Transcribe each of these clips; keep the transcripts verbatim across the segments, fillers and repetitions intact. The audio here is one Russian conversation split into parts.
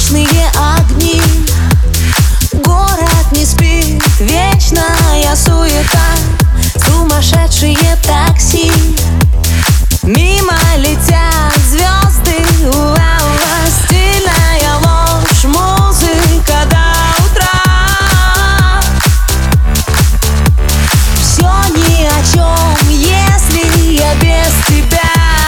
уличные огни. Город не спит, вечная суета, сумасшедшие такси. Мимо летят звезды, уа-уа, стильная ложь, музыка до утра. Все ни о чем, если я без тебя.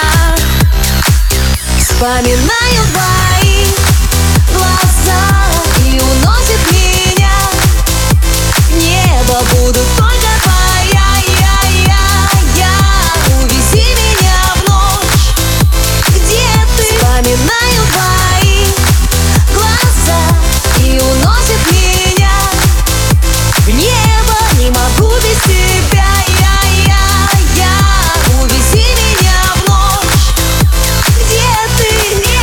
Вспоминаю твои глаза и уносит меня в небо. Буду только твоя, я, я, я. Увези меня в ночь, где ты. Вспоминаю твои глаза и уносит меня в небо. Не могу без тебя, я, я, я. Увези меня в ночь, где ты.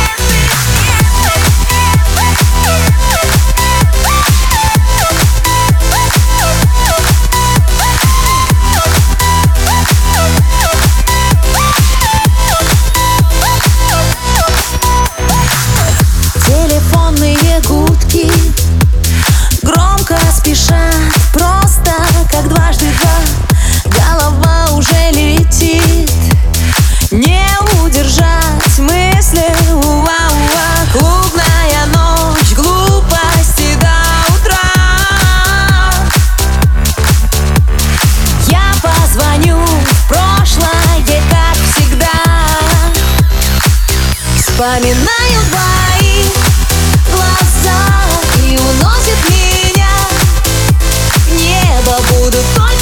Телефонные гудки громко спешат, просто как дважды два. Голова уже летит, не удержать мысли, уа-уа. Клубная ночь, глупости до утра. Я позвоню в прошлое, как всегда. Вспоминаю твои глаза и уносит меня в небо. Буду только